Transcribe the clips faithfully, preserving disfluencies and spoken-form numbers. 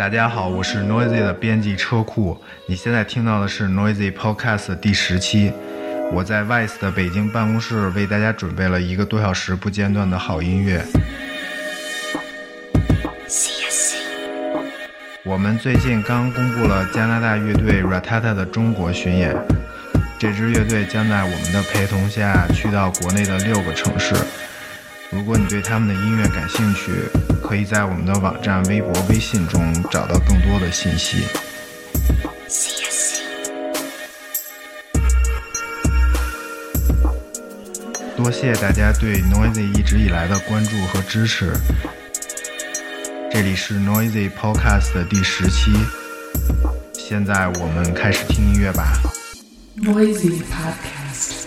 大家好，我是 Noisy 的编辑车库。你现在听到的是 Noisy Podcast 第十期。我在 Vice 的北京办公室为大家准备了一个多小时不间断的好音乐。我们最近刚公布了加拿大乐队 Ratata 的中国巡演，这支乐队将在我们的陪同下去到国内的六个城市。如果你对他们的音乐感兴趣，可以在我们的网站、微博、微信中找到更多的信息。多谢大家对 Noisy 一直以来的关注和支持。这里是 Noisy Podcast 的第十期，现在我们开始听音乐吧。 Noisy Podcast。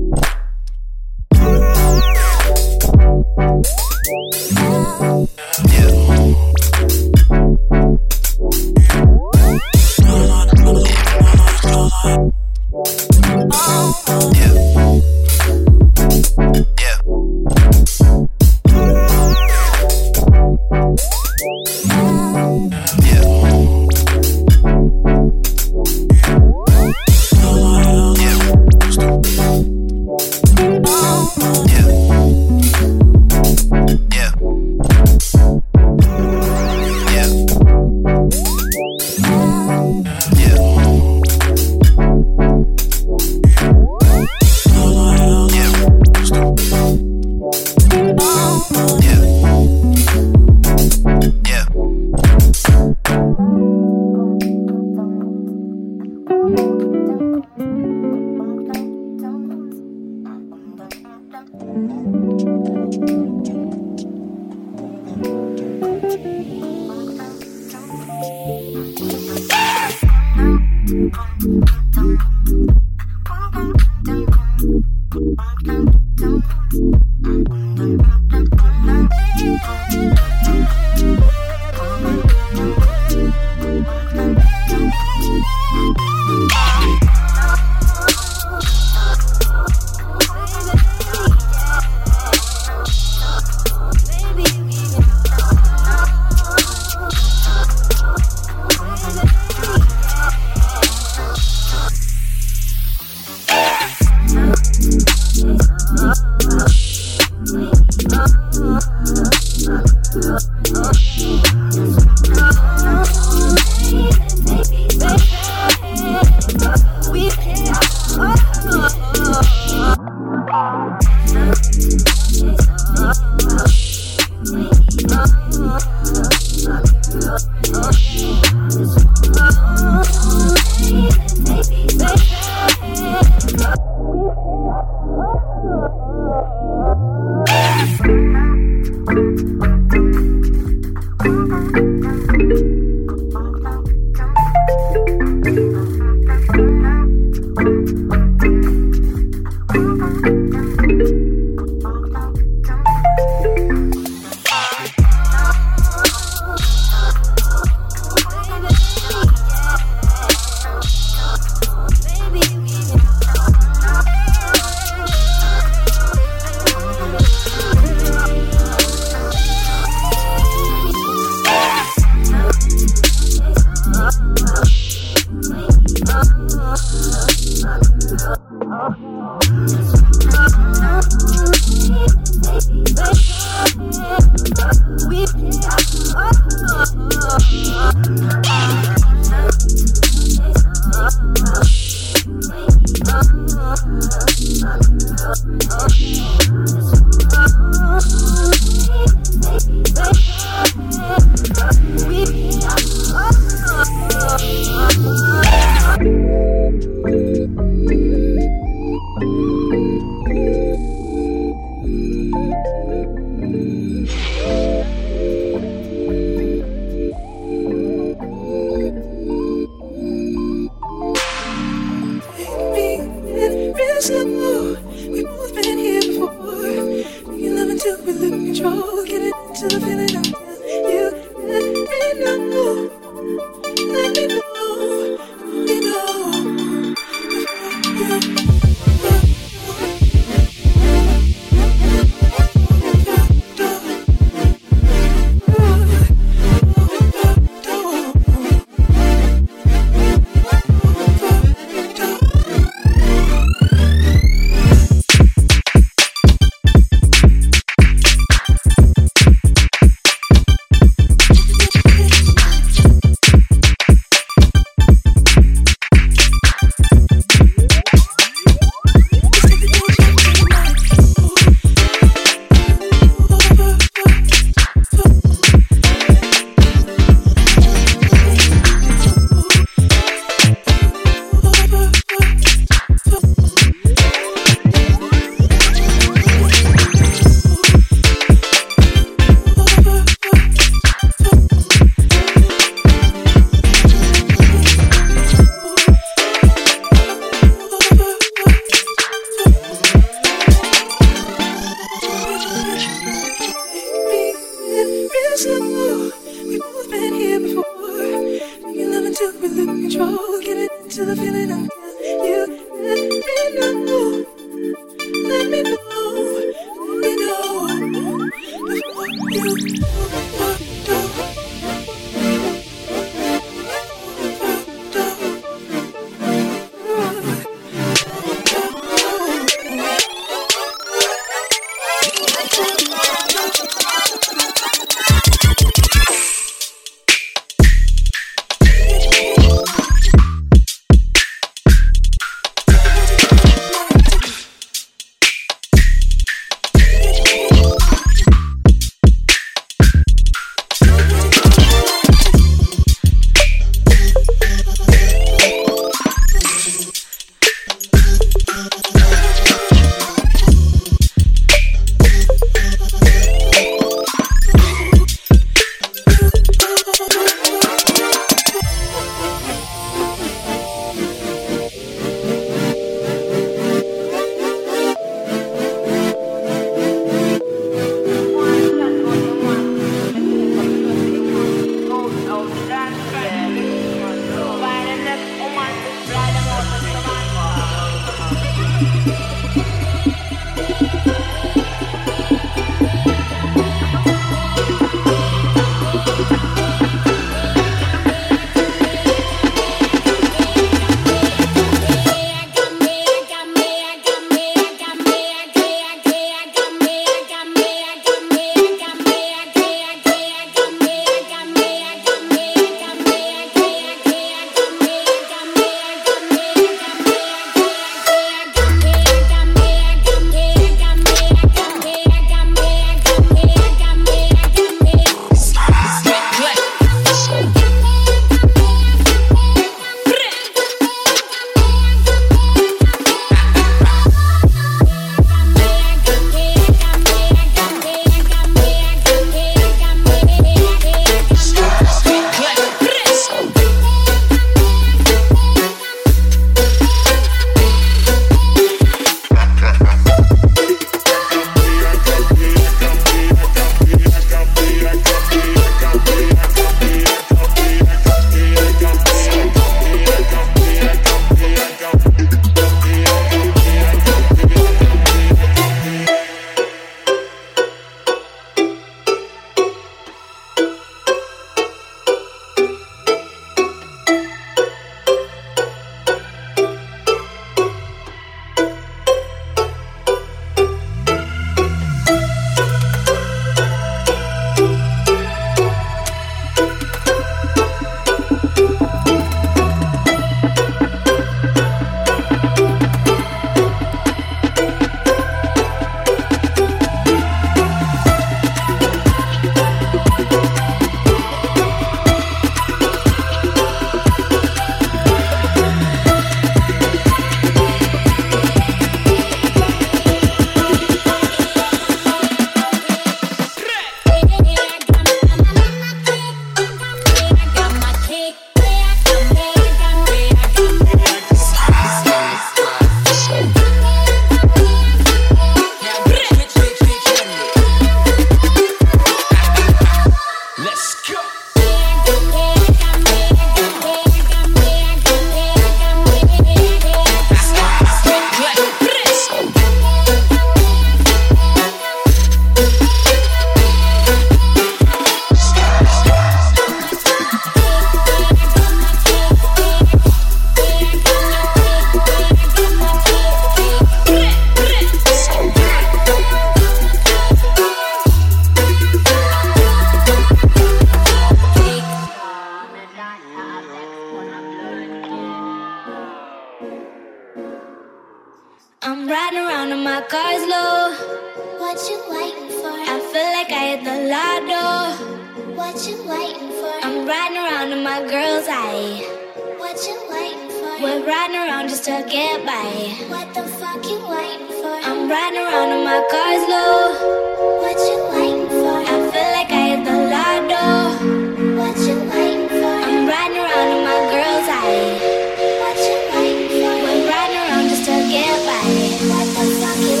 I'm riding around in my car's low. What you waiting for? I feel like I hit the lotto. What you waiting for? I'm riding around in my girl's eye. What you waiting for? We're riding around just to get by. What the fuck you waiting for? I'm riding around in my car's low. What you waiting for? I feel like I hit the lotto. What you waiting for? I'm riding around in my girl's eye. What you waiting for? We're riding around just to get by. What the fuck you?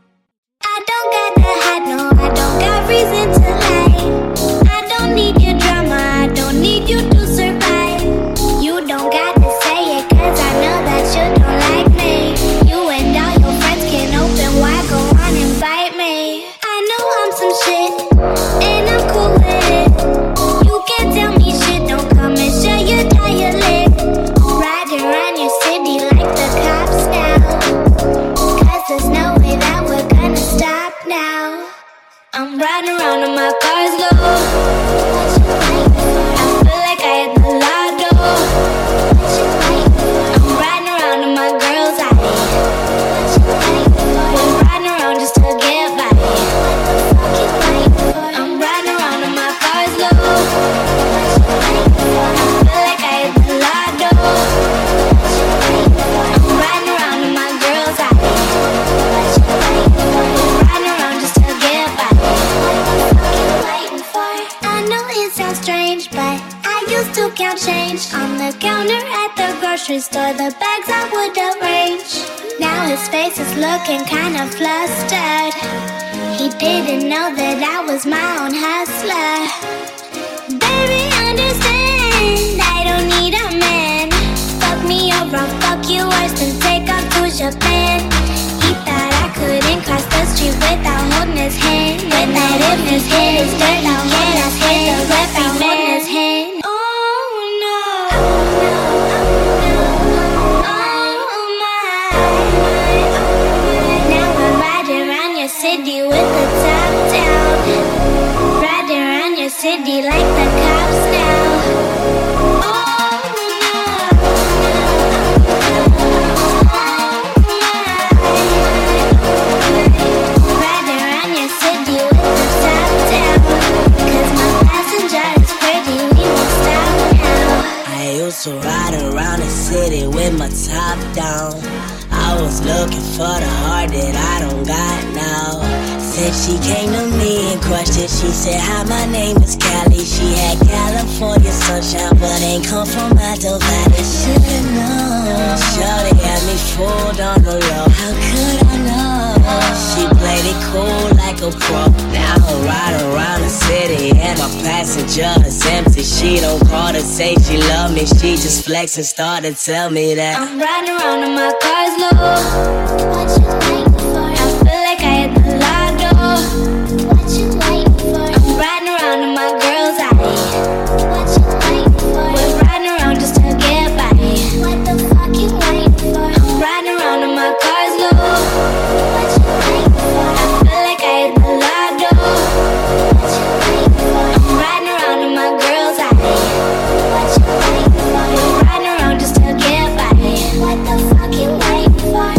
I don't got to hide, no, I don't got reason to lie. I don't need your drama, I don't need you to survive. You don't got to say it, cause I know that you don't like me. You and all your friends can open wide, go on, invite me. I know I'm some shit, and I'm cool with it. You can't tell me shit, don't come and share your dialect. Riding around your city like the cops now, cause there's no way that we're gonna stop now. I'm riding around in my car's low. What you waiting for? I feel like I hit the lotto. What you waiting for? I'm riding around in my girl's eye. What you waiting for? We're riding around just to get by. What the fuck you waiting for? I'm riding around in my car's low. What you waiting for? I feel like I hit the lotto. What you waiting for? I'm riding around in my girl's eye. What you waiting for? We're riding around just to get by. What the fuck you waiting for? I know it sounds strange, but I used to count change on the counter at the grocery store, the bags I would arrange. Now his face is looking kinda flustered. He didn't know that I was my own hustler. Baby, understand, I don't need a man. Fuck me or I'll fuck you worse than take off to Japan. He thought I couldn't cross the street without holding his hand. When that if his head is dirty, yeah, that's hit the left without holding his hand. Oh no, oh my. Now I'm riding around your city with the top down. Riding around your city like the cops now. Oh no, riding around your city with the top down. Cause my passenger is pretty, we won't stop now. I used to ride around the city with my top down. I was looking for the heart that I don't got now. Since she came to me and questioned, she said, hi, my name is Callie. She had California sunshine, but ain't come from Alto Valley. Should've known. Shorty had me fooled on the low. How could I know? She played it cool like a pro. Now I'm riding around the city and my passenger is empty. She don't call to say she love me. She just flex and start to tell me that I'm riding around in my car's low. What you waiting for? I feel like I hit the lotto. What you waiting for? I'm riding around in my girl's eye. What you waiting for? We're riding around just to get by. What the fuck you waiting for? I'm riding around in my car's low. What you waiting for? I feel like I hit the lotto. What you waiting for? I'm riding around in my girl's eye. What you waiting for? We're riding around just to get by. What the fuck you waiting for?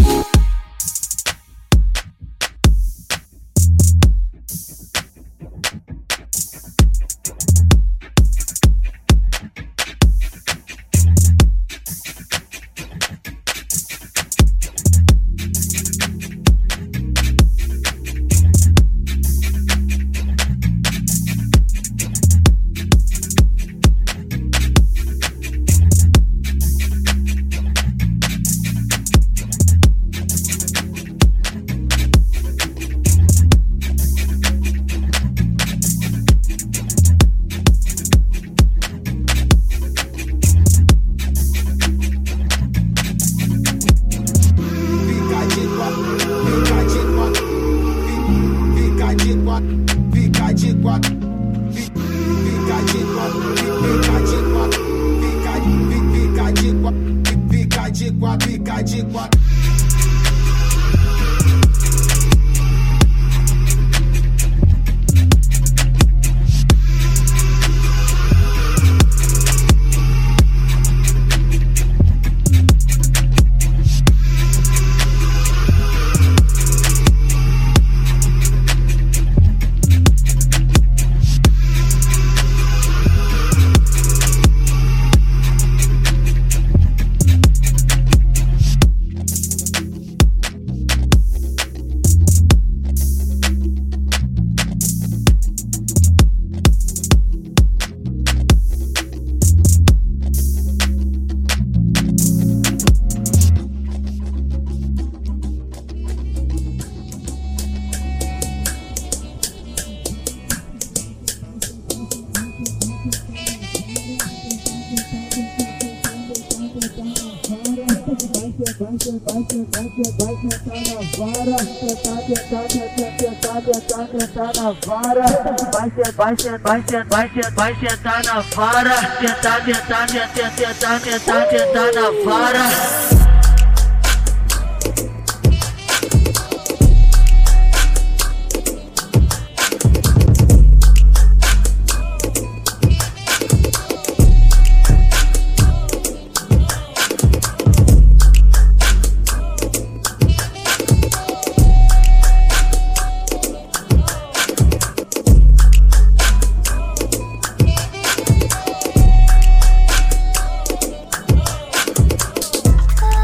Oh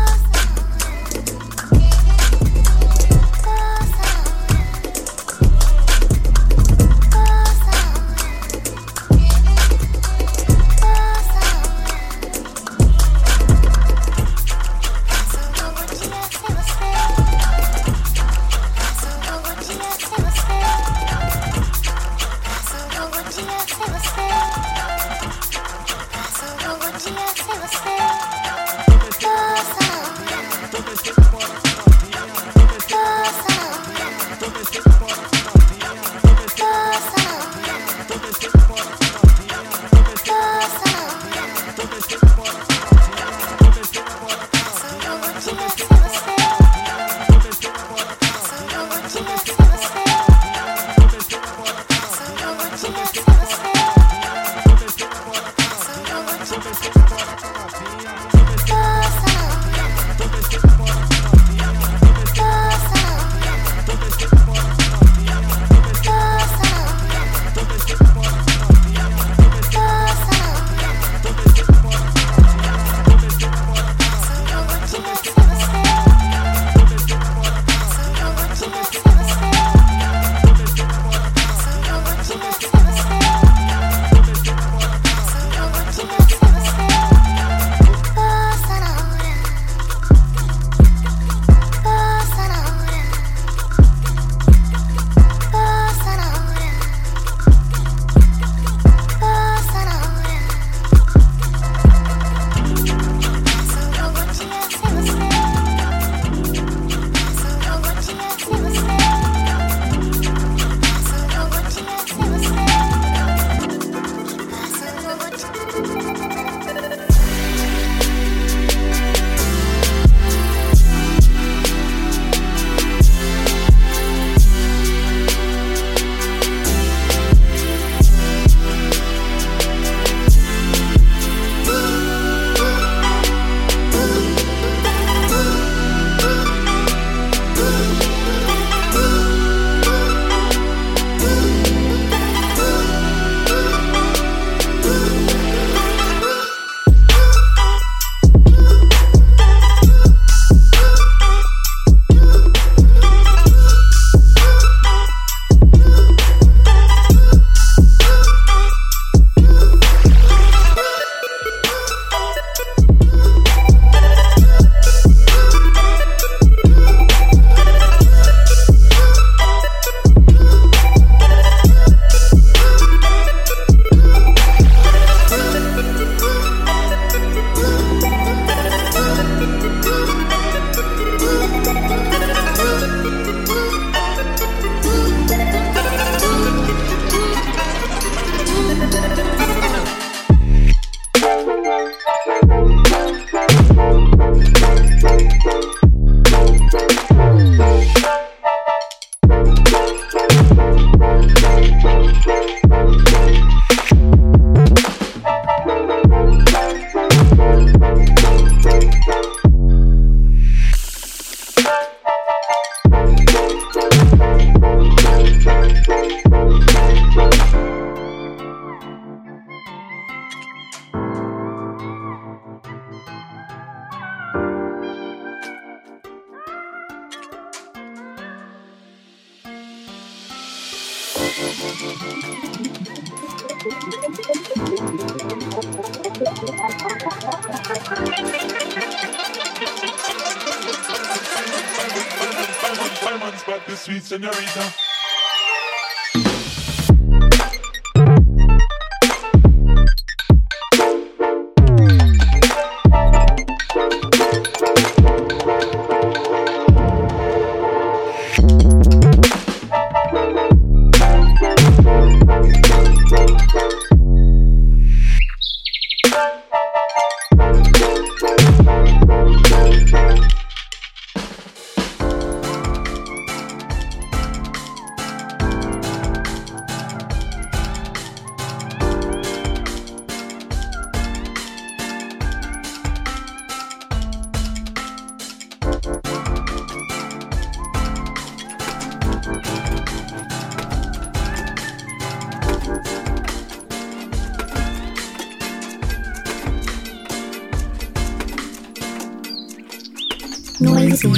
Fireman's back, the sweet señorita. Noisy.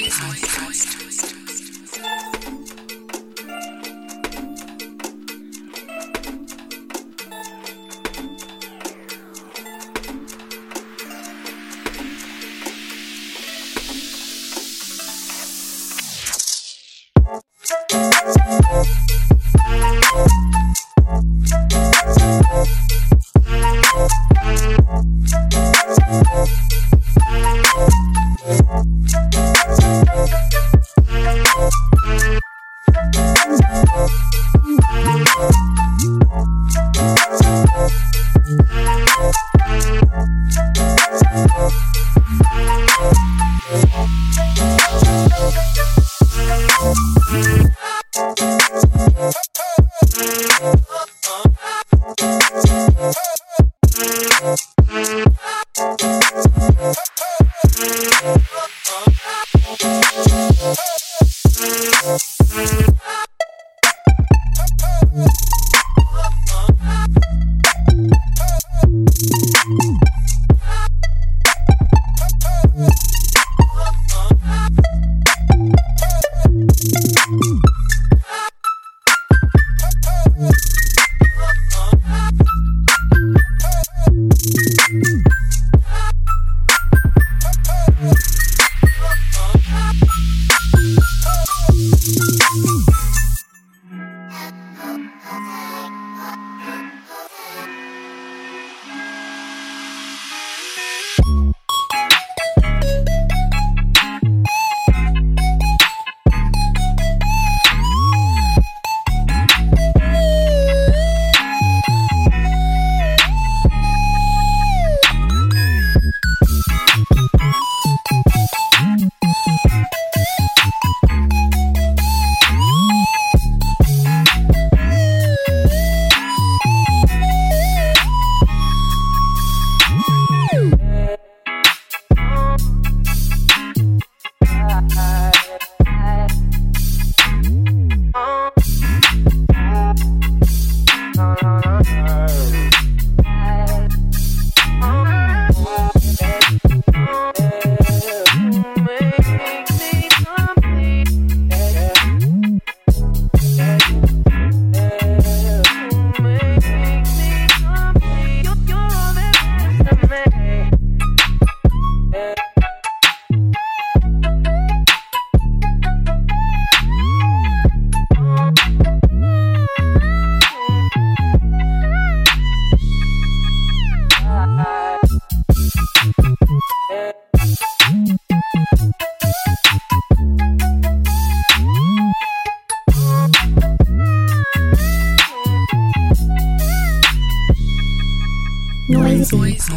Noisy.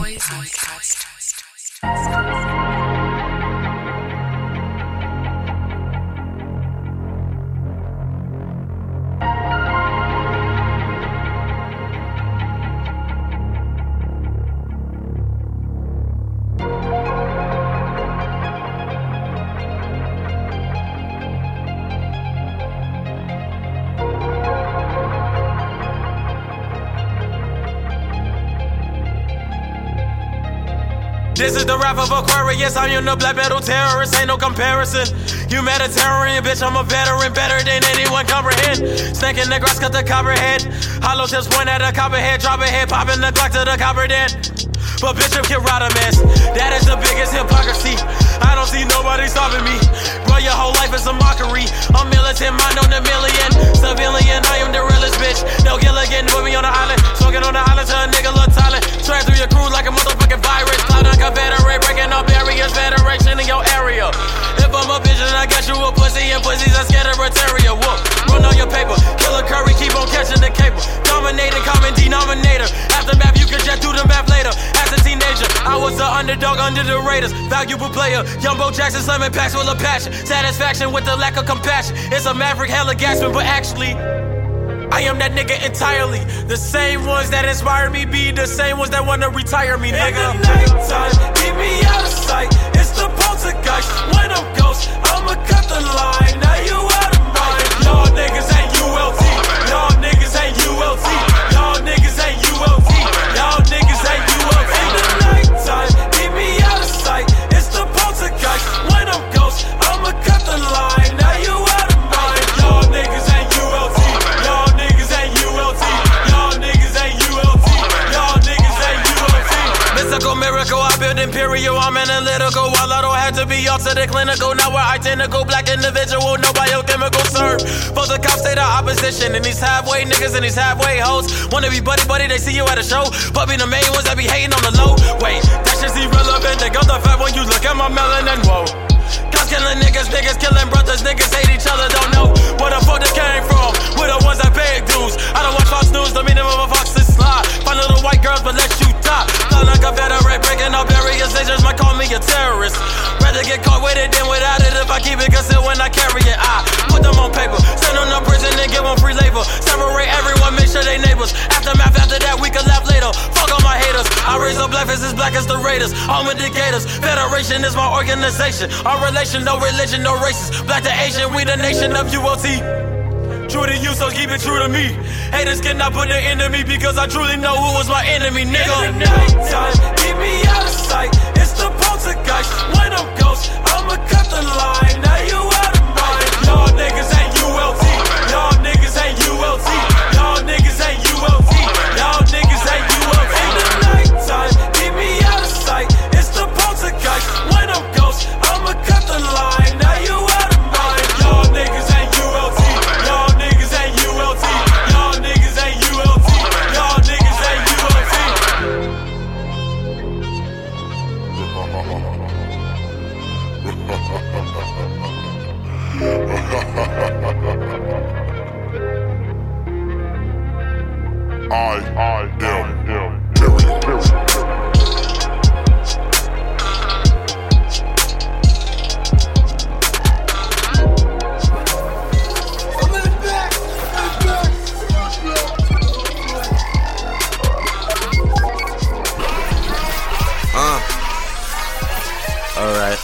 This is the rap of Aquarius. I am the black metal terrorist, ain't no comparison. Humanitarian, bitch, I'm a veteran, better than anyone comprehend. Snake in the grass, cut the copperhead. Hollow tips point at the copperhead, drop a head, popping the clock to the copper dead. But bitch, I'm Kid Rodimus. That is the biggest hypocrisy. I don't see nobody stopping me. Bro, your whole life is a mockery. I'm militant, mind on a million. Civilian, I am the realest bitch. No Gilligan with me on the island. Smoking on the island till a nigga look silent. Track through your crew like a motherfucking virus. Cloud on Confederate, breaking up barriers. Federation in your area. If I'm a bitch, then I got you a pussy. And pussies are scared of Retaria. Whoop, run on your paper. Killer Curry, keep on catching the cable. Dominating, common denominator. Aftermath, you can jet through the map later. As a teenager, I was the underdog under the Raiders. Valuable player, young Bo Jackson, slamming packs full of passion. Satisfaction with the lack of compassion. It's a maverick, hella gasping, but actually, I am that nigga entirely. The same ones that inspire me be the same ones that wanna retire me, nigga. In the nighttime, keep me out of sight. It's the poltergeist. When I'm ghost, I'ma cut the line. Now you out of mind. Y'all niggas ain't U L T. Y'all niggas ain't U L T. Y'all niggas ain't U L T. Y'all niggas ain't U L T. In the nighttime, keep me out of sight. It's the poltergeist. When I'm ghost, I'ma cut the line. Now you out of mind. Y'all niggas ain't U L T. Y'all niggas ain't U L T. Y'all niggas ain't U L T. Y'all niggas ain't U L T. Mystical miracle, I build imperial. I'm analytical. While I don't have to be off to the clinical. Now we're identical. Black individual, no biochemical serve. Both the cops say the opposition. And these halfway niggas and these halfway hoes wanna be buddy buddy, they see you at a show. But be the main ones that be hating on the low. Wait, that shit's irrelevant. They got the fat when you look at my melanin. Whoa. Cops killing niggas, niggas killing brothers, niggas hate each other, don't know where the fuck they came from. We're the ones that pay dues. I don't watch Fox News, the meaning of a fox is slide. Find little white girls, but let you die. Feel like a Confederate, breaking up barriers, they just might call me a terrorist. Rather get caught with it than without it. If I keep it concealed when I carry it, I put them on paper, send them to prison and give them free labor. Separate everyone, make sure they neighbors. Aftermath, after that, we can laugh later. Fuck all my haters. I raise up black faces, black as the Raiders. All indicators. Federation is my organization. Our relation, no religion, no races. Black to Asian, we the nation of U L T. True to you, so keep it true to me. Haters cannot put an end to me because I truly know who was my enemy, nigga. In the nighttime, keep me out of sight. It's the poltergeist. When I'm ghost, I'ma cut the line. Now you out of mind. Y'all niggas ain't U L T. Y'all niggas ain't U L T. Y'all niggas ain't U L T. Y'all niggas ain't U L T. In the nighttime, keep me out of sight. It's the poltergeist. When I'm ghost, I'ma cut the line. Now you out of mind. Y'all niggas ain't U L T. Y'all niggas ain't U L T. Y'all niggas ain't U L T. Y'all niggas ain't U L T. I, I am, am, Terry, Terry. Uh, alright.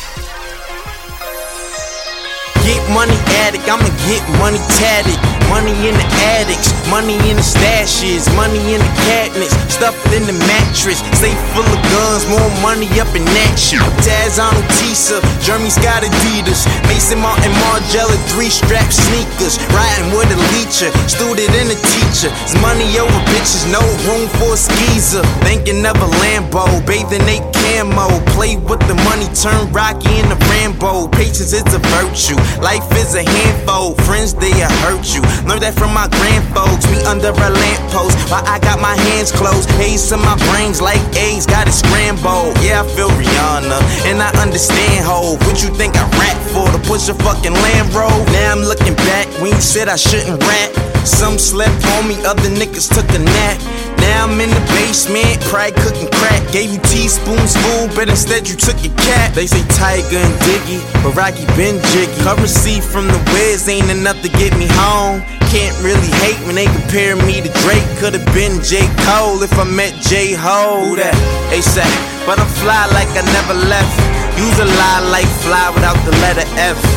Get money addict, I'ma get money tatted. Money in the attics, money in the stashes, money in the cabinets, stuff in the mattress, safe full of guns, more money up in that shit. Taz on Tisa, Jeremy Scott Adidas, Mason Martin Margiela, three strap sneakers, riding with a leecher, student and a teacher. It's money over bitches, no room for a skeezer. Thinking of a Lambo, bathing they camo, play with the money, turn Rocky into Rambo. Patience is a virtue, life is a handful, friends they'll hurt you. Learned that from my grandfolks, we under a lamppost while I got my hands closed. Haze in my brains like A's, got it scrambled. Yeah, I feel Rihanna, and I understand ho. What you think I rap for, to push a fucking Land Rover? Now I'm looking back, when you said I shouldn't rap. Some slept on me, other niggas took a nap. Now I'm in the basement, probably cooking crack. Gave you teaspoons full, but instead you took your cat. They say Tiger and Diggy, but Rocky been jiggy. Currency from the Wiz ain't enough to get me home. Can't really hate when they compare me to Drake. Could've been J. Cole if I met J-Ho. Who that? A$AP. But I'm fly like I never left. Use a lie like fly without the letter F.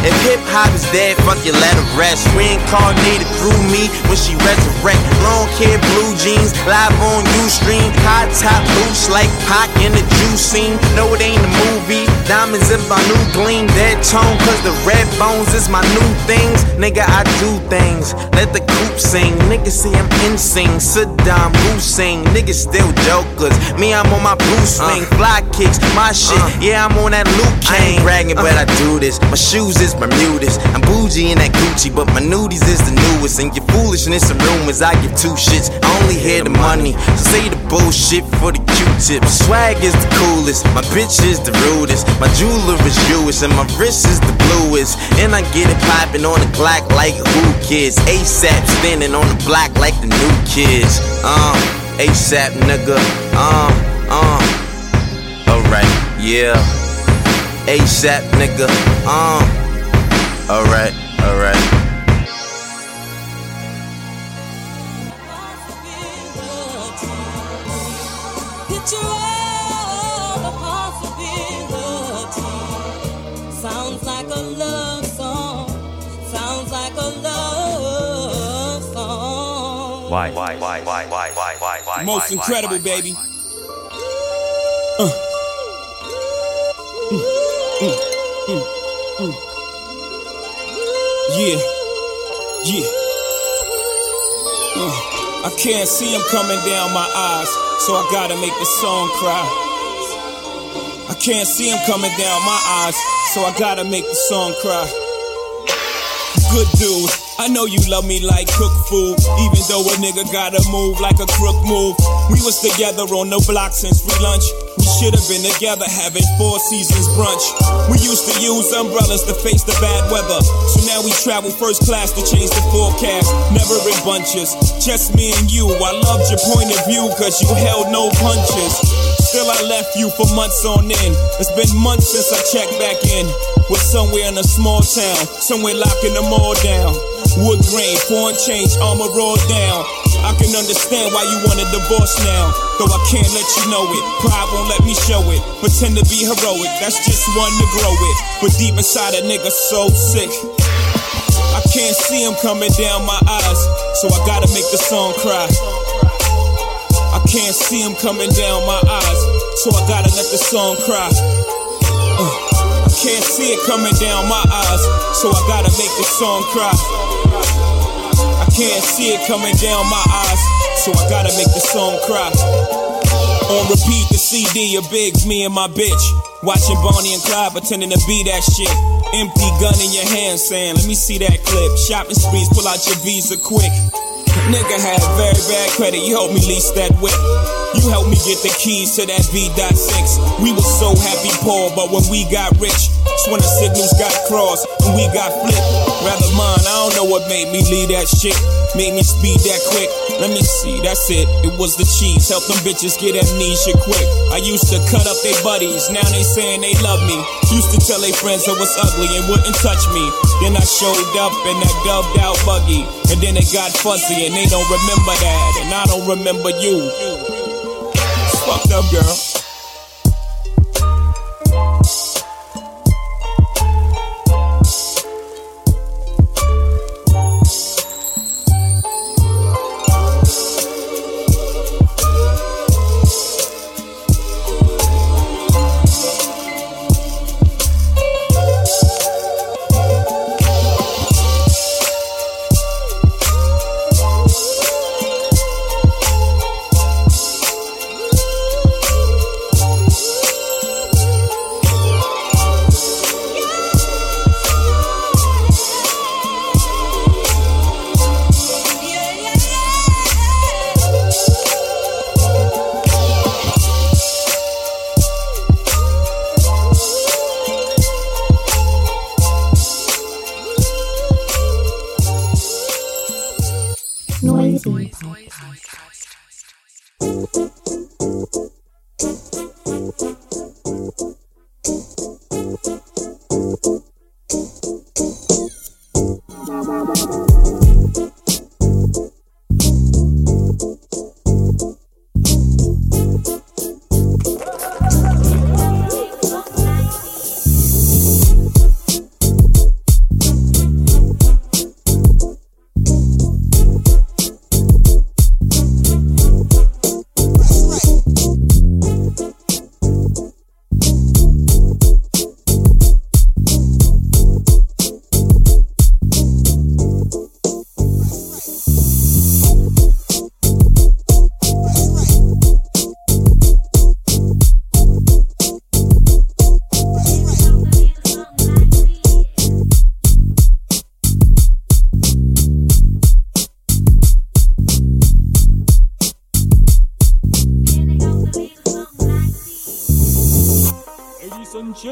If hip-hop is dead, fuck you, let her rest. Reincarnated through me when she resurrect. Long hair, blue jeans, live on Ustream. High top boots like Pac in the juice scene. No, it ain't a movie. Diamonds in my new gleam. Dead tone, cause the red bones is my new things. Nigga, I do things. Let the coop sing. Niggas say I'm insane. Saddam Hussein. Niggas still jokers. Me, I'm on my blue swing. Uh, Fly kicks, my shit. Uh, yeah, I'm on that Luke Kane. I ain't bragging, uh, but I do this. My shoes is Bermudas. I'm bougie in that Gucci, but my nudies is the newest. And your foolishness and rumors, I give two shits. I only hear the money, so say the bullshit for the Q-tip. My swag is the coolest, my bitch is the rudest. My jeweler is Jewish, and my wrist is the bluest. And I get it poppin' on the Glock like who kids. ASAP standing on the block like the new kids. Uh, ASAP nigga, uh, uh. Alright, yeah. ASAP nigga, uh. Alright, alright. Picture of a possibility. Sounds like a love song. Sounds like a love song. Why, why, why, why, why, why, why, why? Most why, incredible, why, baby. Why, why, why. Uh. Mm, mm, mm, mm. Yeah, yeah. Uh, I can't see him coming down my eyes, so I gotta make the song cry. I can't see him coming down my eyes, so I gotta make the song cry. Good dude, I know you love me like cook food, even though a nigga gotta move like a crook move. We was together on the block since free lunch. We should have been together having Four Seasons brunch. We used to use umbrellas to face the bad weather, so now we travel first class to change the forecast. Never in bunches, just me and you. I loved your point of view cause you held no punches. Still I left you for months on end. It's been months since I checked back in. We're somewhere in a small town, somewhere locking them all down. Wood grain, foreign change, armor rolled down. I can understand why you want a divorce now, though I can't let you know it. Pride won't let me show it. Pretend to be heroic, that's just one to grow it. But deep inside a nigga so sick, I can't see him coming down my eyes, so I gotta make the song cry. I can't see him coming down my eyes, so I gotta let the song cry. uh, I can't see it coming down my eyes, so I gotta make the song cry. I can't see it coming down my eyes, so I gotta make the song cry. On repeat, the C D of Biggs, me and my bitch, watching Bonnie and Clyde pretending to be that shit. Empty gun in your hand saying, let me see that clip. Shopping sprees, pull out your Visa quick. Nigga had very bad credit, you helped me lease that whip. You helped me get the keys to that V six. We were so happy poor, but when we got rich, it's when the signals got crossed and we got flipped. Rather mine, I don't know what made me leave that shit. Made me speed that quick. Let me see, that's it. It was the cheese. Help them bitches get amnesia quick. I used to cut up their buddies. Now they saying they love me. Used to tell their friends I was ugly and wouldn't touch me. Then I showed up in that dubbed out buggy. And then it got fuzzy and they don't remember that. And I don't remember you. It's fucked up, girl. Noisy Podcast.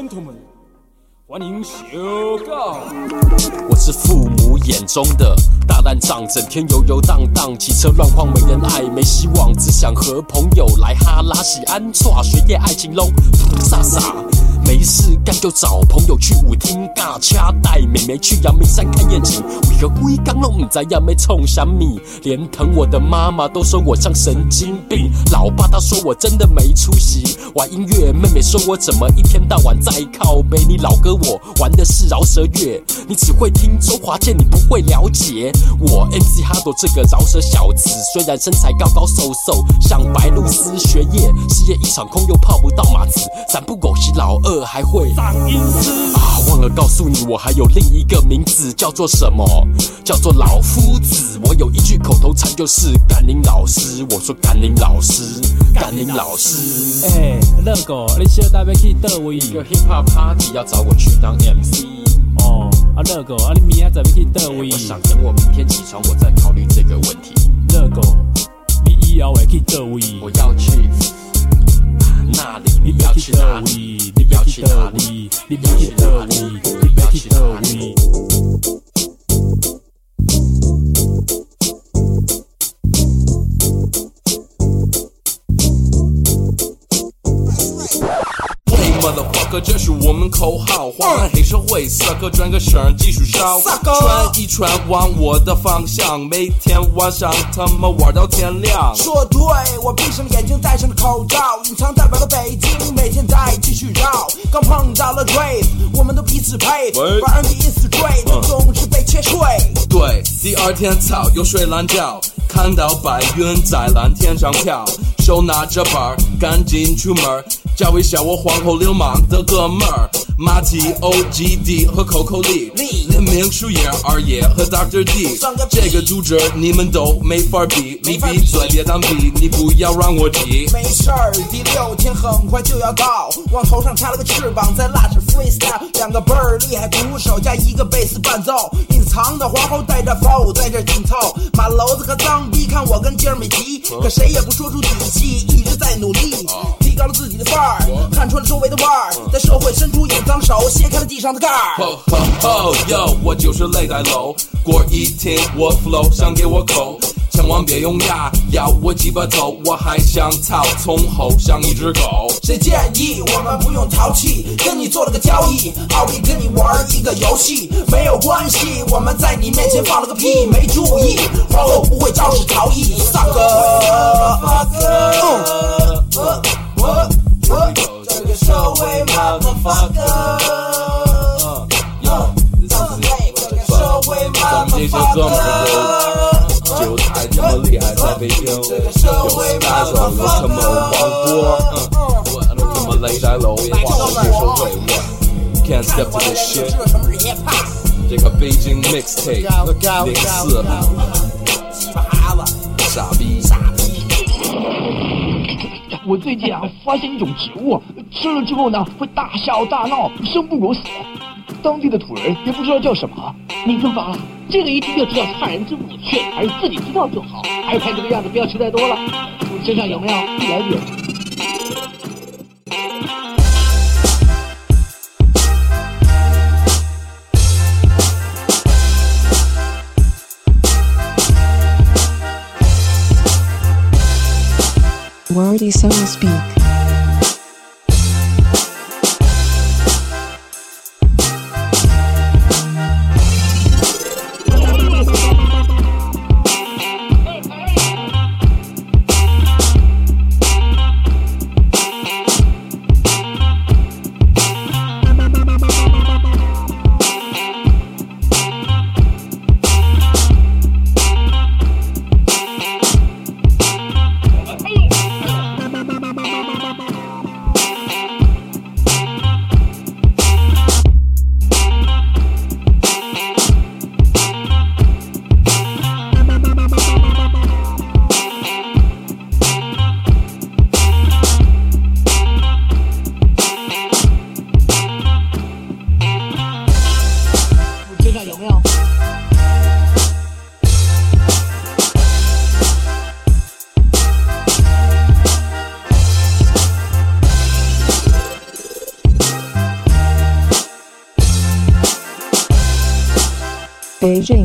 gentlemen，欢迎小告。 我是父母眼中的大烂仗，整天游游荡荡，骑车乱晃，没人爱，没希望，只想和朋友来哈拉喜安错，学业爱情拢傻傻。没事干就找朋友去舞厅尬掐，带妹妹去阳明山看夜景。为何规刚拢唔知要要冲啥米？连疼我的妈妈都说我像神经病，老爸他说我真的没出息。玩音乐，妹妹说我怎么一天到晚在靠北？你老哥我玩的是饶舌乐，你只会听周华健，你不会了解我 M C 哈朵这个饶舌小子。虽然身材高高瘦瘦，像白露丝，学业事业一场空，又泡不到马子。咱不狗是老二。还会当音师啊！忘了告诉你，我还有另一个名字，叫做什么？叫做老夫子。我有一句口头禅，就是干您老师。我说干您老师，干您老师。 哎、欸，乐狗，你小弟要去倒位？ 一个 hip hop party 要找我去当 M C。 哦，啊乐狗，啊你明仔载要去倒位？ 我想等我明天起床，我再考虑这个问题。 乐狗，你以后会去倒位？ 我要去那里，你要去哪里？你要去哪里？你要去哪里？你要去哪里？ Motherfucker， 这是我们口号，划完黑社会，撒个转个身继续烧，转一圈往我的方向，每天晚上他妈玩到天亮。 说对，我闭上眼睛，戴上了口罩，隐藏代表了北京，每天在继续绕。刚碰到了 Dre， 我们都彼此配，反而第一次追，但总是被切碎。 对，第二天操又睡懒觉，看到白云在蓝天上飘，手拿着板赶紧出门。叫一下我皇后流氓的哥们儿，马蹄 O G D 和 Coco Lee， 联名树叶二爷和 Doctor D， 这个组织你们都没法比，你闭嘴别当逼，你不要让我急。 没事儿，第六天很快就要到，往头上插了个翅膀，在拉着 freestyle， 两个倍儿厉害鼓手加一个贝斯伴奏，隐藏的皇后带着 flow 在这紧凑，马楼子和脏逼看我跟今儿没急，可谁也不说出底气，一直在努力，提高了自己的范儿。看穿了周围的腕儿，在社会深处隐藏手，掀开了地上的盖儿。 吼吼吼哟，我就是雷带楼，锅一听我 flow， 想给我口，千万别用牙咬我鸡巴头，我还想操从后像一只狗。 谁建议我们不用淘气，跟你做了个交易，奥利跟你玩一个游戏，没有关系，我们在你面前放了个屁，没注意，皇后不会肇事逃逸。萨哥，嗯，我。这个社会 motherfucker， 社会 motherfucker， 就太他妈厉害，在北京有四大双子他妈王波，我他妈雷带楼，黄后黑社会，我 can't step to this shit， 这个北京 mixtape 零四，傻逼傻逼。 我最近啊发现一种植物，吃了之后呢会大笑大闹，生不如死。当地的土人也不知道叫什么。你更烦了，这个一听就知道是害人之物，却还是自己知道就好。还有看这个样子，不要吃太多了。身上有没有一来点？ Wordy so to speak. Beijing.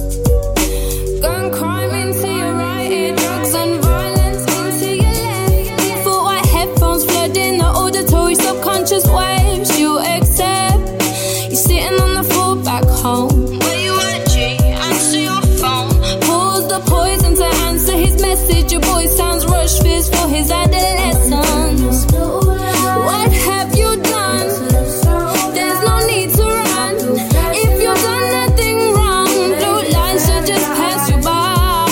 Gun crime into your right ear, drugs and violence into your left. answer his message. Your boy sounds rushed, fears for his adolescence. What have you done? There's no need to run. If you've done nothing wrong, blue lines should just pass you by.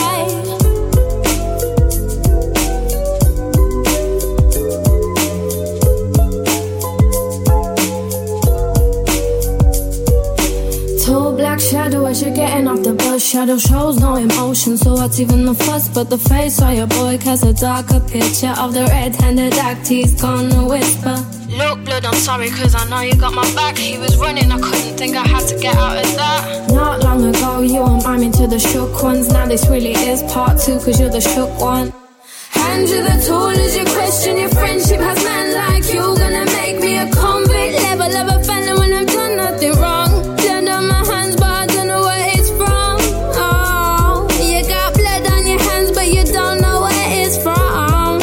Tall black shadow as you're getting off the bus. Shadow shows no emotion, so what's even the fuss? But the face of your boy casts a darker picture of the red-handed act he's gonna whisper. Look, blood, I'm sorry, cause I know you got my back. He was running, I couldn't think I had to get out of that. Not long ago, you were miming to the shook ones. Now this really is part two, cause you're the shook one. Hand you the tool as you question your friendship. Has man like you gonna make me a convict? Level of a felon when I've done nothing wrong. Blood on my hands, but I don't know where it's from. Oh, you got blood on your hands, but you don't know where it's from.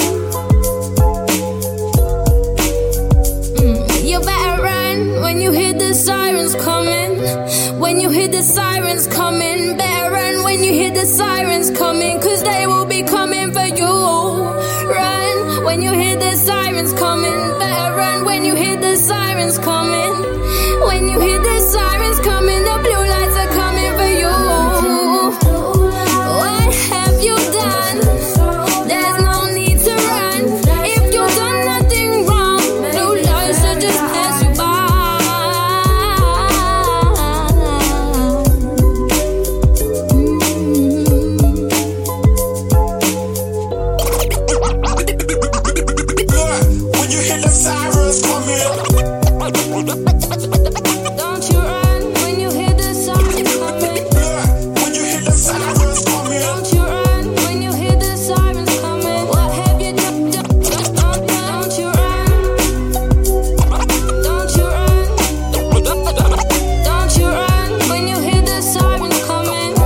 Mm, you better run when you hear the sirens coming. When you hear the sirens coming, better run when you hear the sirens coming, cause they will be coming for you. Run when you hear the sirens coming, better run when you hear the sirens coming. When you hear the sirens coming, the blue lights are coming for you. What have you done? There's no need to run. If you've done nothing wrong, blue lights will just pass you by. When you hear the sirens coming. Don't you run when you hear the sirens coming. When you hear the sirens coming. Don't you run when you hear the sirens coming. What have you done? Don't, don't you run. Don't you run. Don't you run when you hear the sirens coming.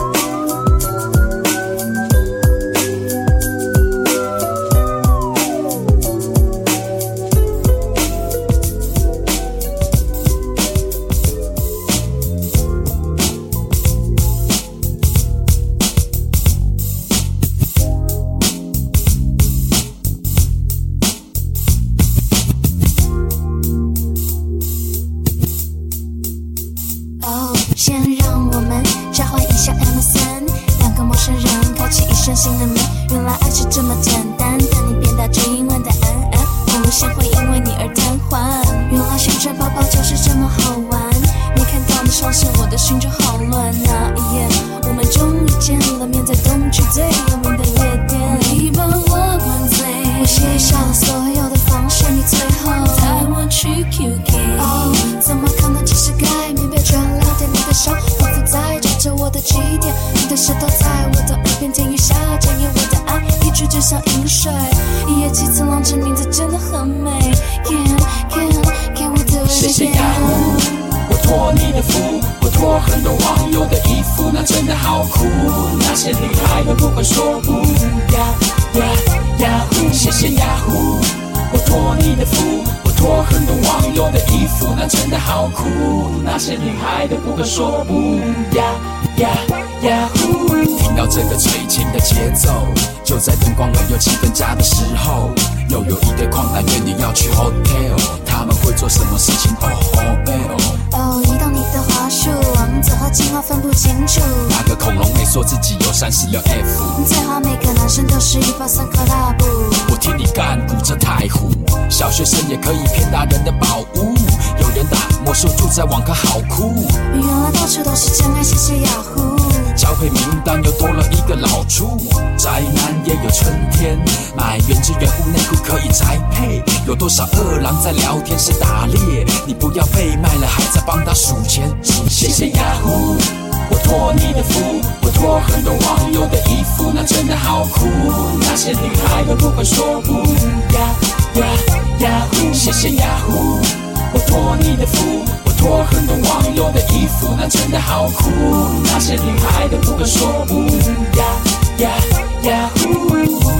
哦，先让我们召唤一下 M S N， 两个陌生人开启一生新的门。原来爱是这么简单，但你变大只因为的安安，网络线会因为你而瘫痪。原来旋转泡泡就是这么好玩，没看到你上线，我的心就好乱。那一夜，我们终于见了面，在东区最有名的夜店。你帮我灌醉，我写下了所有的方式，你最后带我去 Q K。哦，怎么可能只是改名被转了点？你的手仿佛在抓着我的起点，你的舌头在我的耳边甜语下，检验我的爱，一句就像饮水。一夜七次郎，这名字真的很美。Can can can we do it again？ 谢谢雅虎，我托你的福，我托很多网友的衣服，那真的好酷。那些厉害的不会说不呀呀雅虎，谢谢雅虎，我托你的福。托很多网友的衣服，那真的好酷。那些厉害的不会说不呀呀呀呼！听到这个催情的节奏，就在灯光而又气氛佳的时候，又有一对狂男约你要去 hotel， 他们会做什么事情？哦哦哦，移动你的滑鼠，王子和青蛙分不清楚。 那个恐龙妹说自己有三十六 F， 最好每个男生都是一包三克拉布。 我听你干鼓着太湖，小学生也可以骗大人的宝物。有人打魔术住在网咖好酷， 原来到处都是真爱，谢谢雅虎。 交配名单又多了一个老猪，宅男也有春天，买原汁原物内裤可以宅配。有多少二郎在聊天室打猎？你不要被卖了还在帮他数钱。谢谢雅虎，我托你的福，我托很多网友的衣服，那真的好酷。那些厉害的不会说不呀呀雅虎，谢谢雅虎，我托你的福。托很多网友的衣服，那真的好酷。那些厉害的不会说不呀呀呀呼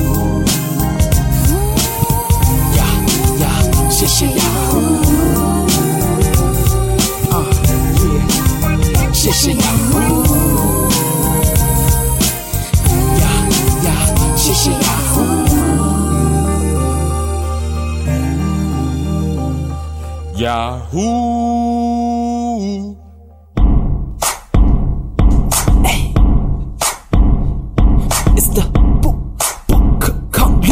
呀呀，谢谢呀呼啊耶，谢谢呀呼呀 Yahoo! Hey. It's the book, book, complete.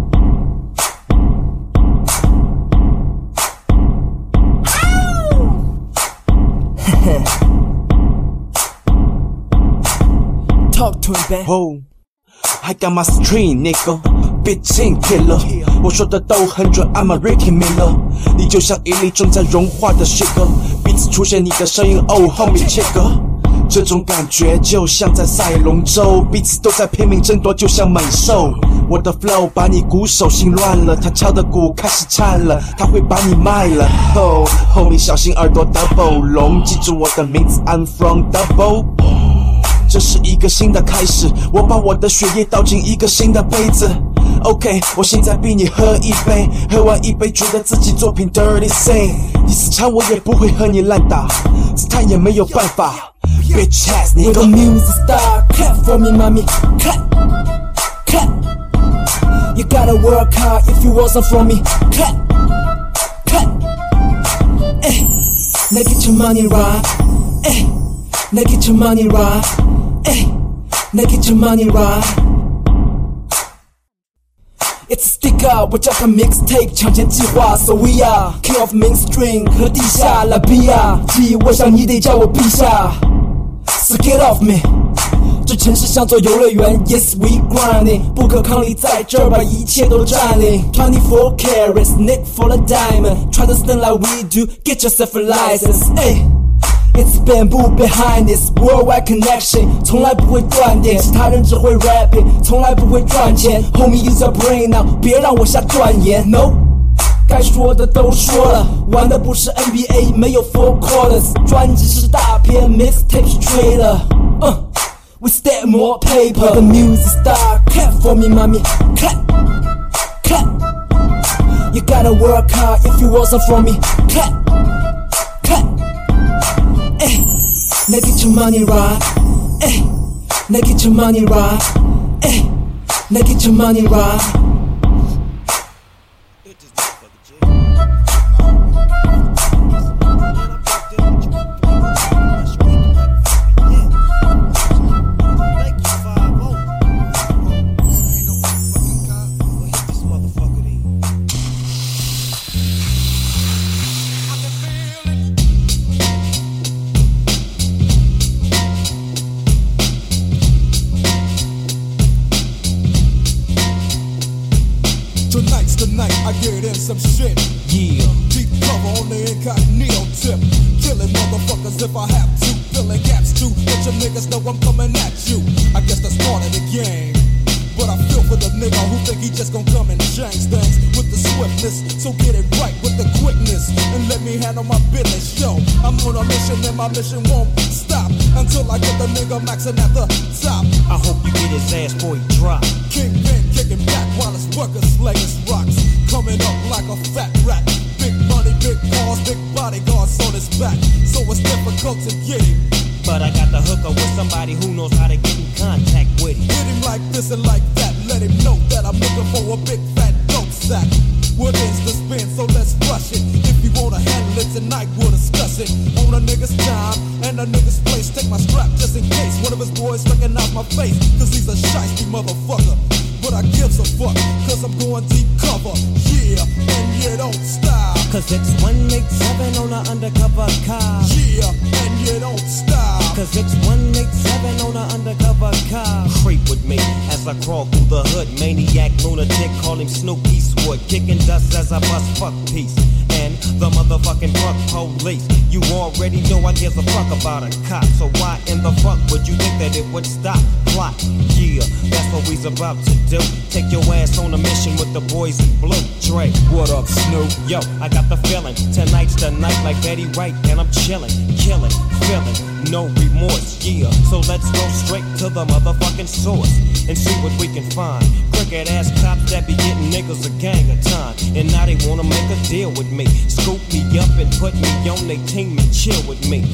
Talk to him, man. Oh, I got my string, nigga. Bitchin killer， 我说的都很准 ，I'm a Ricky Miller。你就像一粒正在融化的 sugar， 彼此出现你的声音 ，Oh homie checker。这种感觉就像在赛龙舟，彼此都在拼命争夺，就像猛兽。我的 flow 把你鼓手心乱了，他敲的鼓开始颤了，他会把你卖了。Oh homie 小心耳朵 double 龙，记住我的名字 I'm from double。这是一个新的开始，我把我的血液倒进一个新的杯子。OK， 我现在逼你喝一杯，喝完一杯觉得自己作品 dirty sing， 你死缠我也不会和你烂打，子弹也没有办法。Bitch ass nigga， 我的 music star clap for me， mommy clap clap。You gotta work hard if you want some from me. Clap, clap. Hey, now get your money right. Hey, now get your money right. Hey, now get your money right. It's a sticker， 我叫它 mixtape， 抢钱计划 ，So we are king of mainstream 和地下拉比亚，记忆我想你得叫我陛下 ，So get off me。这城市像座游乐园 ，Yes we grinding， 不可抗力在这儿把一切都占领。twenty-four carats, Nick for the diamond， try to stand like we do, get yourself a license。哎 ，It's bamboo behind this worldwide connection， 从来不会断电，其他人只会 rapping， 从来不会赚钱。Homie use your brain now， 别让我瞎断言 ，No。该说的都说了，玩的不是 N B A， 没有 four quarters， 专辑是大片 ，mixtape 是 trailer。嗯 ，We stack more paper。The music star clap for me, mommy, clap, clap. You gotta work hard if you want some from me, clap, clap. Hey, now get your money right. Hey, now get your money right. Hey, now get your money right. Some shit, yeah. Deep cover on the incognito tip. Killing motherfuckers if I have to. Filling gaps too. Let your niggas know I'm coming at you. I guess that's part of the game. But I feel for the nigga who think he just gon' come and change things with the swiftness. So get it right with the quickness and let me handle my business. Yo, I'm on a mission and my mission won't stop until I get the nigga maxing at the top. I hope you get his ass before he drop. Kingpin kicking back while his workers slaying rocks. Coming up like a fat rat. Big money, big cars, big bodyguards on his back. So it's difficult to get him. But I got the hooker with somebody who knows how to get in contact with him. Hit him like this and like that. Let him know that I'm looking for a big fat dope sack. What is the spin? So let's rush it. If you wanna handle it tonight, we'll discuss it. On a nigga's time and a nigga's place. Take my strap just in case one of his boys recognize my face. Cause he's a shiesty motherfucker. But I gives a fuck, cause I'm going deep cover. Yeah, and you don't stop. Cause it's one eighty-seven on an undercover car. Yeah, and you don't stop. Cause it's one eighty-seven on an undercover car. Creep with me as I crawl through the hood. Maniac, lunatic, call him Snoop Eastwood. Kicking dust as I bust fuck peace. And the motherfucking fuck police. You already know I give a fuck about a cop. So why in the fuck would you think that it would stop? Plot, yeah, that's what we's about to do. Take your ass on a mission with the boys in blue. Dre, what up, Snoop? Yo, I got the feeling. Tonight's the night like Betty White. And I'm chilling, killing, feeling, no remorse, yeah. So let's go straight to the motherfucking source and see what we can find. Crooked ass cops that be getting niggas a gang of time. And now they wanna make a deal with me. Scoop me up and put me on their team and chill with me.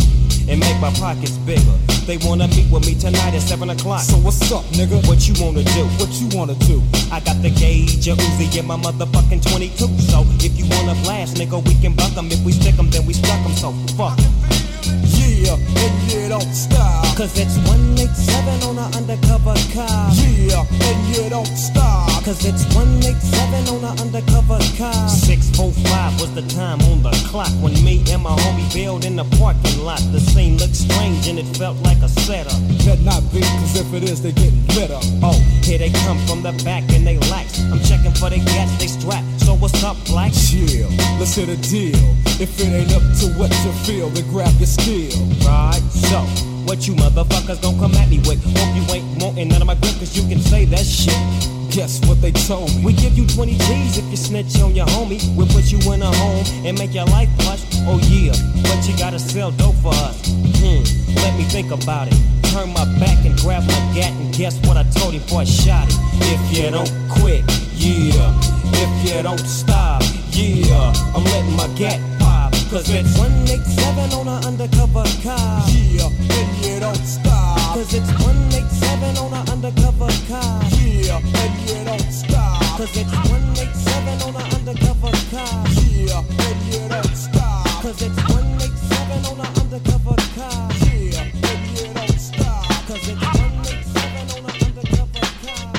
and make my pockets bigger. They wanna meet with me tonight at seven o'clock. So what's up, nigga? What you wanna do? What you wanna do? I got the gauge, a Uzi, and my motherfucking twenty-two. So if you wanna blast, nigga, we can buck 'em. If we stick 'em, then we stuck 'em. So fuck. Yeah, and yeah, don't stop. Cause it's one eighty-seven on an undercover car. Yeah, and yeah, don't stop. Cause it's one eighty-seven on an undercover car. six forty-five was the time on the clock when me and my homie bailed in the parking lot. The scene looked strange and it felt like a setup. Better not be, cause if it is, they getting lit up. Oh, here they come from the back and they lax. I'm checking for the gas, they strap. So what's up, black? Chill, let's hit a deal. If it ain't up to what you feel, then grab your skill. Right, so what you motherfuckers gon' come at me with? Hope you ain't wanting none of my grip, cause you can say that shit. Guess what they told me? We give you twenty G's if you snitch on your homie. We'll put you in a home and make your life plush. Oh yeah, but you gotta sell dope for us. Hmm, let me think about it. Turn my back and grab my gat, and guess what I told him before I shot it? If you don't quit, yeah. If you don't stop, yeah. I'm letting my gat pop. Cause it's one eighty-seven on an undercover car. Yeah, and you don't stop. Cause it's one eighty-seven on an undercover car. Yeah, and you don't stop. Cause it's one eighty-seven on an undercover car. Yeah, and you don't stop. Cause it's one eighty-seven on an undercover car. Yeah, and you don't stop. Cause it's one eighty-seven on an undercover car.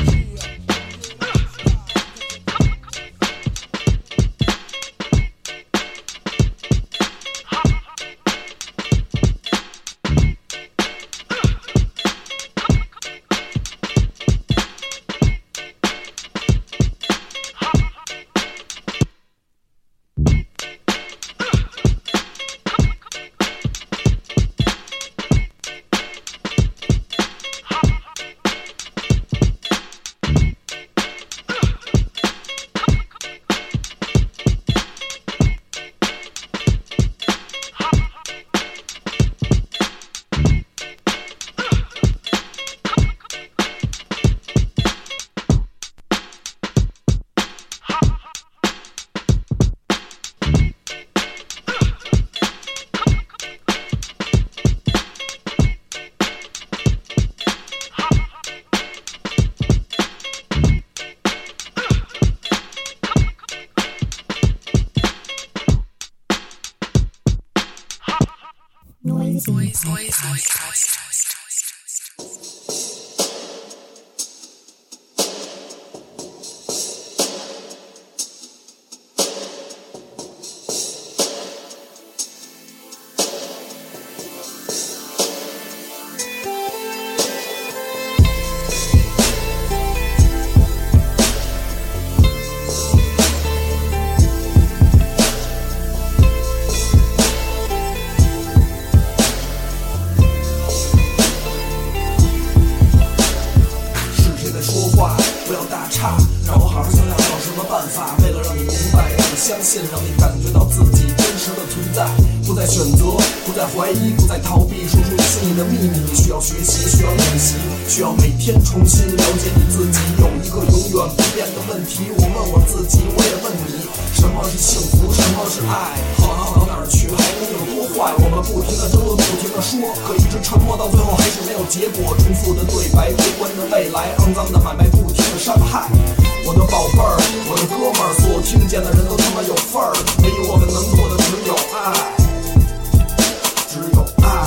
Noisy Noisy Podcast. 相信，让你感觉到自己真实的存在，不再选择，不再怀疑，不再逃避，说出你心里的秘密。你需要学习，需要练习，需要每天重新了解你自己。有一个永远不变的问题，我问我自己，我也问你，什么是幸福，什么是爱？好好到哪儿去，还能有多坏？我们不停的争论，不停的说，可一直沉默，到最后还是没有结果。重复的对白，悲观的未来，肮脏的买卖，不停的伤害。我的宝贝儿，我的哥们儿，所有听见的人都他妈有份儿。唯一我们能做的只有爱，只有爱，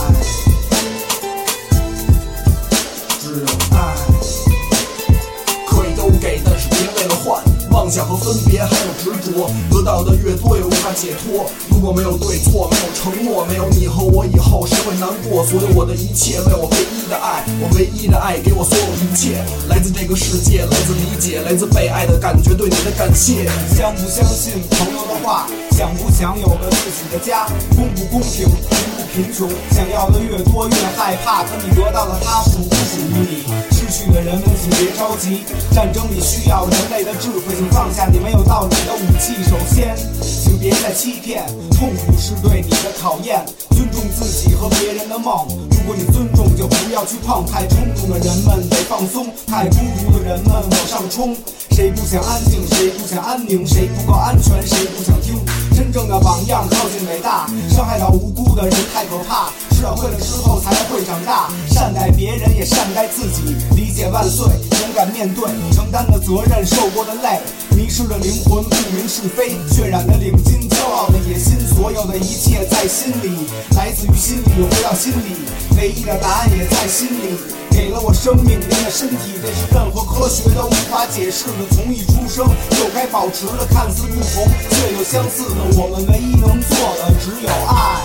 只有爱。可以都给，但是别为了换。妄想和分别，还有执着，得到的越多，也无法解脱。如果没有对错，没有承诺，没有你和我以后，谁会难过？所有我的一切，为我唯一的爱，我唯一的爱，给我所有一切，来自这个世界，来自理解，来自被爱的感觉，对你的感谢。 相不相信朋友的话？想不想有个自己的家？公不公平？贫不贫穷？想要的越多越害怕，可你得到了它属不属于你？失去的人们请别着急，战争里需要人类的智慧，请放下你没有道理的武器。首先，请别再欺骗，痛苦是对你的考验。尊重自己和别人的梦，如果你尊重，就不要去碰。太冲动的人们得放松，太孤独的人们往上冲。谁不想安静？谁不想安宁？谁不够安全？谁不想听？真正的榜样靠近伟大，伤害到无辜的人太可怕。 社会了之后才会长大，善待别人也善待自己，理解万岁，勇敢面对，承担的责任，受过的累，迷失的灵魂，不明是非，渲染的领巾，骄傲的野心，所有的一切在心里，来自于心里，回到心里，唯一的答案也在心里，给了我生命，给了身体，这是任何科学都无法解释的。从一出生就该保持的，看似不同却又相似的，我们唯一能做的只有爱。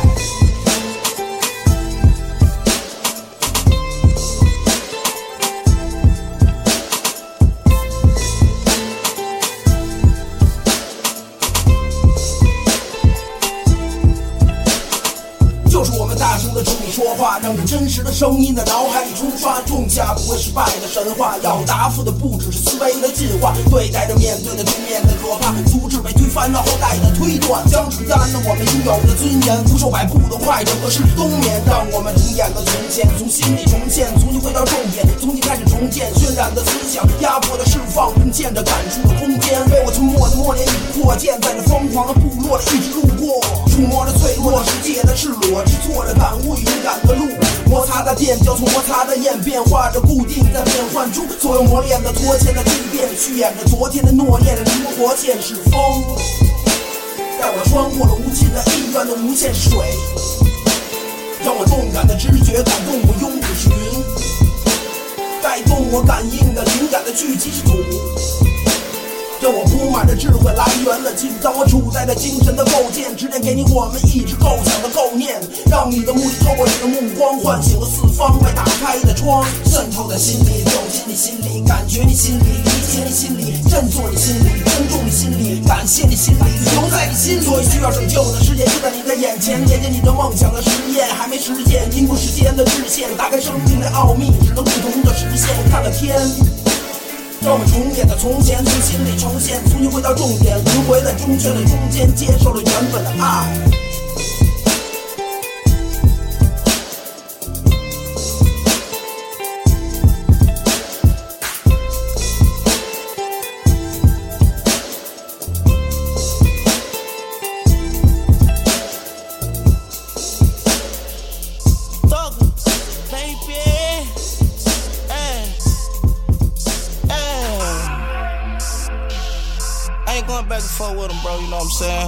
大声地冲你说话，让你真实的声音在脑海里冲刷，种下不会失败的神话。要答复的不只是思维的进化，对待着面对的对面的可怕，阻止被推翻，让后代的推断，将承担了我们应有的尊严。不受摆布的坏人和世纪冬眠，让我们重演的从前，从心里重现，重新回到重点，从新开始重建。渲染的思想，压迫的释放，并见着感触的空间。为我沉默的默念已扩建，在这疯狂的部落里一直路过，触摸着脆弱世界的赤裸，制作着感悟与勇敢的路，摩擦的电交从摩擦的焰，变化着固定，在变换中所有磨练的脱线的蜕变，续演着昨天的诺言，灵活现实风，带我穿过了无尽的意愿的无限水，让我动感的直觉感动我拥挤群，带动我感应的灵感的聚集土，让我铺满着智慧来源了，记住当我处在这精神的构建，指点给你我们一直构想的构念，让你的目的透过你的目光，唤醒了四方外打开的窗，渗透在心里，走进你心里，感觉你心里，理解你心里，振作你心里，尊重你心里，感谢你心里，留在你心里。所以需要拯救的世界就在你的眼前，见见你的梦想的实验，还没实现，经过时间的制限，打开生命的奥秘，只能不同的实现。看了天。让我们重演的从前，从心里重现，重新回到重点，轮回在正确的中间，接受了原本的爱。With them, bro, you know what I'm saying?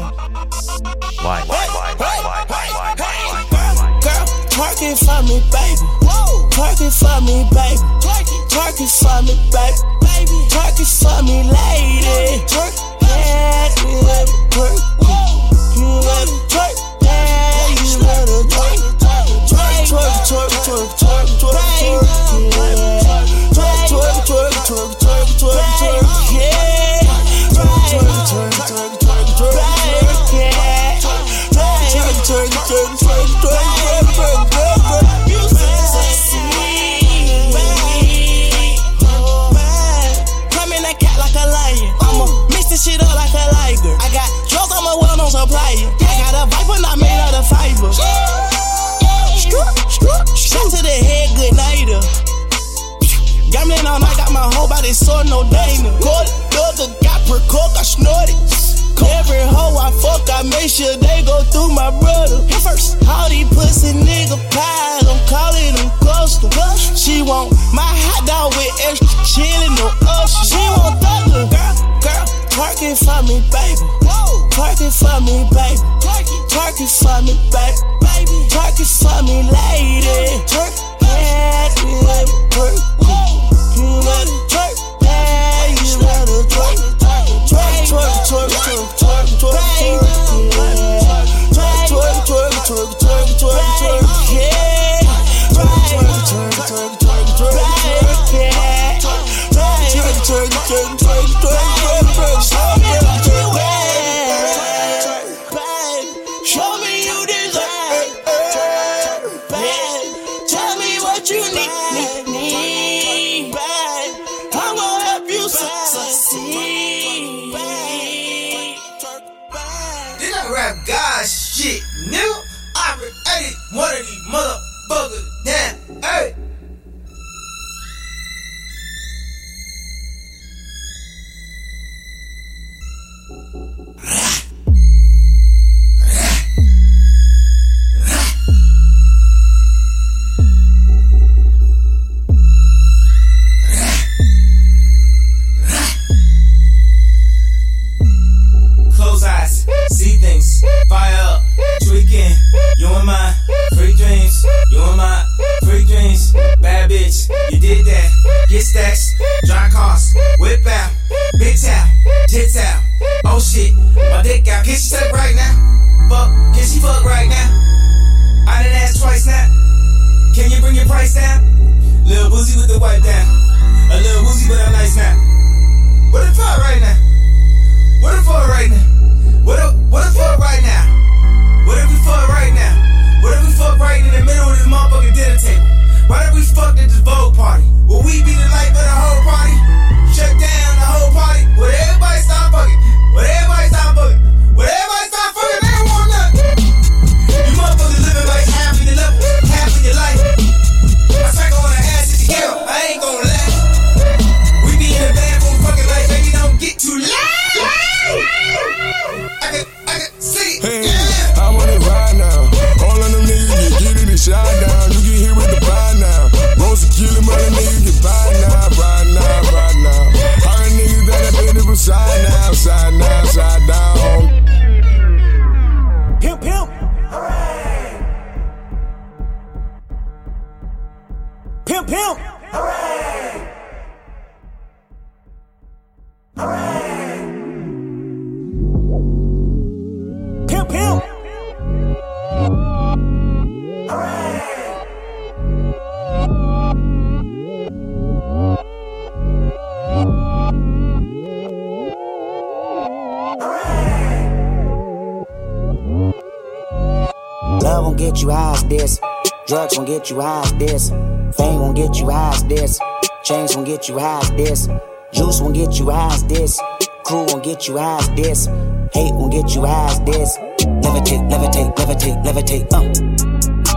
Why, why, why, why, why, why, why, why? Girl, twerk it for me, baby. Twerk it for me, baby. Twerk it for me, baby. Twerk it for me, lady. Twerk, yeah, you let it twerk. You let it twerk, yeah, you let it twerk. Twerk, twerk, twerk, twerk, twerk, twerk, twerk, twerk, twerk, twerk, twerk, twerk, twerk, twerk, yeah. Twerk, twerk, twerk, twerk, twerk, twerk, yeah. Twerk, twerk, twerk, twerk, twerk, twerk, twerk, twerk. You sexy, baby. Come in that cat like a lion. I'ma mix this shit up like a liger. I got drugs, I'm a well-known supplier. I got a viper, not made out of fiber. Shot to the head, good nighter. Gambling all night, got my whole body sore, no Dana. Gold, dugger, got per coke, I snorted. Every hoe I fuck, I make sure they go through my brother. Hit first, all these pussy nigga pies, I'm calling them custom. She want my hot dog with extra chili, no usher. She want thugger, girl, girl, twerk it for me, baby. Twerk it for me, baby. Twerk it for me, baby. Twerk it for me, lady. Twerk, yeah, you let it twerk. You let it twerk, yeah, you let it twerk. Twerk, twerk, twerk, twerk, twerk, twerk, twerk, twerk, twerk, twerk, twerk, twerk, twerk, yeah. Twerk, twerk, twerk, twerk, twerk, twerk, yeah. Twerk, twerk, twerk, twerk, twerk, twerk, twerk, babe, show me you deserve, babe. Tell me what you need, need, babe. I'm gonna help you succeed, babe. This that rap god shit, nigga. I created one of these motherfuckers now, hey. and mine. Free dreams, you and mine. Free dreams, bad bitch, you did that. Get stacks, dry cars, whip out, big towel, tits out. Oh shit, my dick out. Can she suck right now? Fuck, can she fuck right now? I done asked twice now. Can you bring your price down? Lil' Boozy with the wipe down. A little woozy, but I'm nice now. What the fuck right now? What the fuck right now? What the, what the fuck right now? What if we fuck right now? What if we fuck right in the middle of this motherfucking dinner table? Why did we fuck at this Vogue party? Will we be the life of the whole party? Shut down the whole party? Will everybody stop fucking? Will everybody stop fucking? Will everybody stop fucking? They don't want nothing. You motherfuckers living like half of your level, half of your life. I cycle on the ass at the girl, I ain't gon' lie. We be in the bathroom fucking like baby, don't get too loud. I can, I can see it. Hey, yeah. I want it right now. All of them niggas get, get it and shot down. You get hit with the buy now. Roast a kilo, mother niggas get buy now, right now, right now. All the niggas that have been from side now, side now, side down. Pimp, pimp. Hooray! Pimp, pimp. Hooray! Hooray! Pimp, pimp. Hooray! Love won't get you high as this. Drugs won't get you high as this. Fame won't get you high as this. Chains won't get you high as this. Juice won't get you high as this. Crew won't get you high as this. Hate won't get you high as this. Levitate, levitate, levitate, levitate, uh.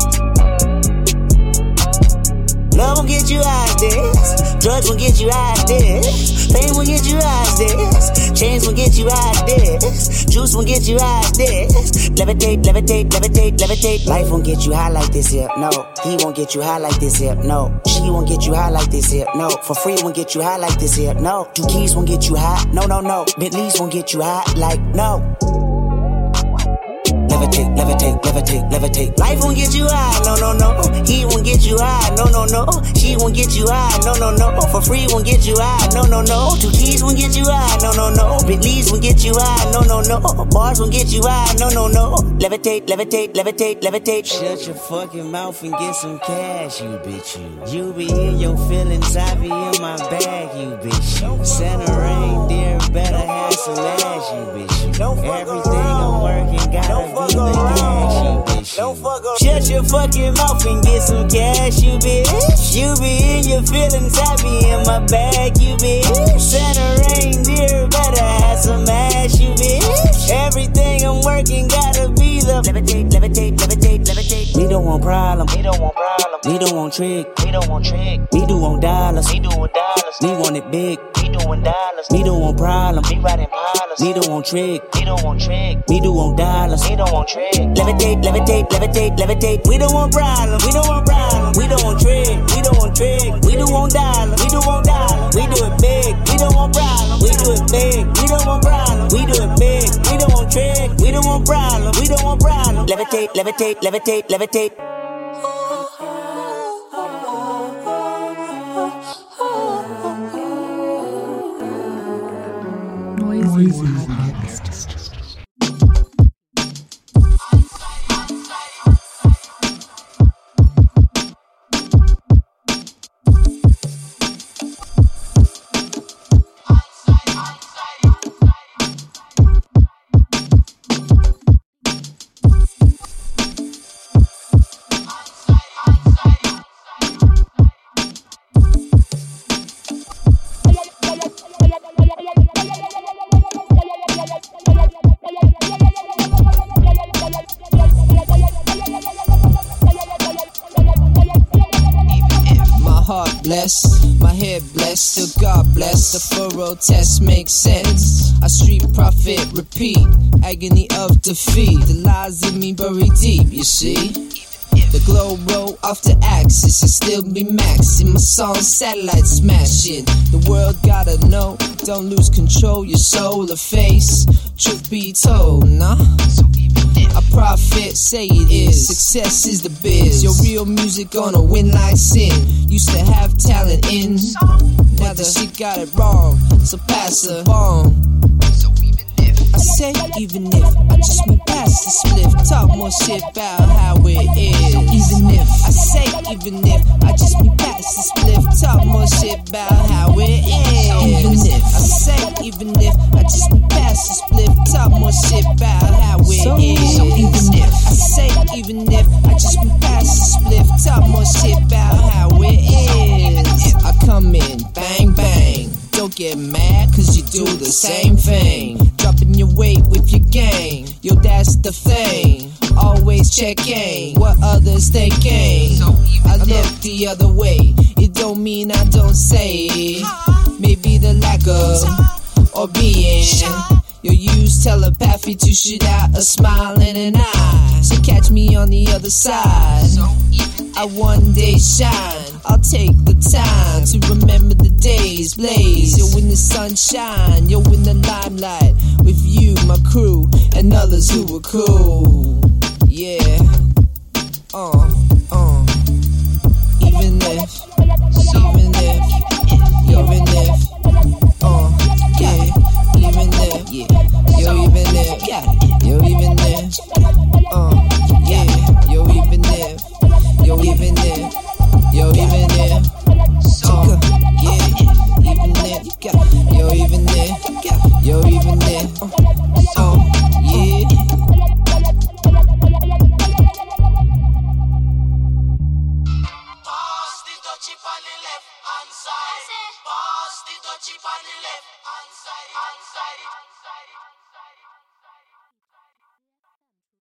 Love won't get you high as this. Drugs won't get you high as this. Fame won't get you high as this. Chains won't get you high as this. Juice won't get you high as this. Levitate, levitate, levitate, levitate. Life won't get you high like this here, no. He won't get you high like this here, no. She won't get you high like this here, no. For free won't get you high like this here, no. Two keys won't get you high, no, no, no. Bentleys won't get you high like, no. Levitate, levitate, levitate, levitate. Life won't get you high, no, no, no. He won't get you high, no, no, no. She won't get you high, no, no, no. For free won't get you high, no, no, no. Two keys won't get you high, no, no, no. Bentleys won't get you high, no, no, no. Bars won't get you high, no, no, no. Levitate, levitate, levitate, levitate. Shut your fucking mouth and get some cash, you bitch, you. You be in your feelings, I be in my bag, you bitch, you. Santa reindeer better have some ass, you bitch, you. Everything I'm working gotta be the cash, you bitch, you. Shut your fucking mouth and get some cash, you bitch. You be in your feelings, I be in my bag, you bitch. Santa reindeer better have some ass, you bitch. Everything I'm working gotta be the levitate, levitate, levitate, levitate. We don't want problem, we don't want problem. We don't want trick, we don't want trick. We do want dollars, we do want dollars. We want it big, we doing dollars. We don't want problem, we riding pilots. We don't want trick, we don't want trick. We do want dollars, we don't want trick. Levitate, levitate, levitate, levitate. We don't want problem, we don't want problem. We don't want trick, we don't want trick. We do want dollars, we do want dollars. We do it big, we don't want problem. We do it big, we don't want problem. We do it big, we don't want trick. We don't want problem, we don't want problem. Levitate, levitate, levitate, levitate. Noisy. Bless, my head blessed, still God bless. The furrow test makes sense. I street profit, repeat, agony of defeat. The lies in me buried deep, you see. The glow roll off the axis and still be maxing. My song satellite smashing. The world gotta know, don't lose control, your soul or face. Truth be told, nah. So even if I profit, say it is. Success is the biz. Your real music gonna win like sin. Used to have talent in, now the shit got it wrong. So pass the bomb. I say even if I just went past the spliff, talk more shit about how it is. Even if I say even if I just went past the spliff, talk more shit about how it is. Even if I say even if I just went past the spliff, talk more shit about how it so, is. So even if I say even if I just went past the spliff, talk more shit about how it is. I come in bang bang. Don't get mad, cause you do the same thing. Dropping your weight with your gang. Yo, that's the thing. Always checking what others thinking. I look the other way. It don't mean I don't say. Maybe the lack of or being. Yo, use telepathy to shoot out a smile and an eye. So catch me on the other side. I one day shine. I'll take the time to remember the days blaze. Yo, when the sun shine, yo, in the limelight with you, my crew, and others who were cool. Yeah, uh, uh. Even if, even if, even if, uh, yeah. Even if, yeah, yo, even if, yeah, yo, even if, uh, yeah, yo, even if, yo, even if, yo, even if, uh, yeah, even if, yo, even if, yo, even if, uh, yeah. Pass the dutchie on the left hand side. Pass the dutchie on the left hand side. Hand side.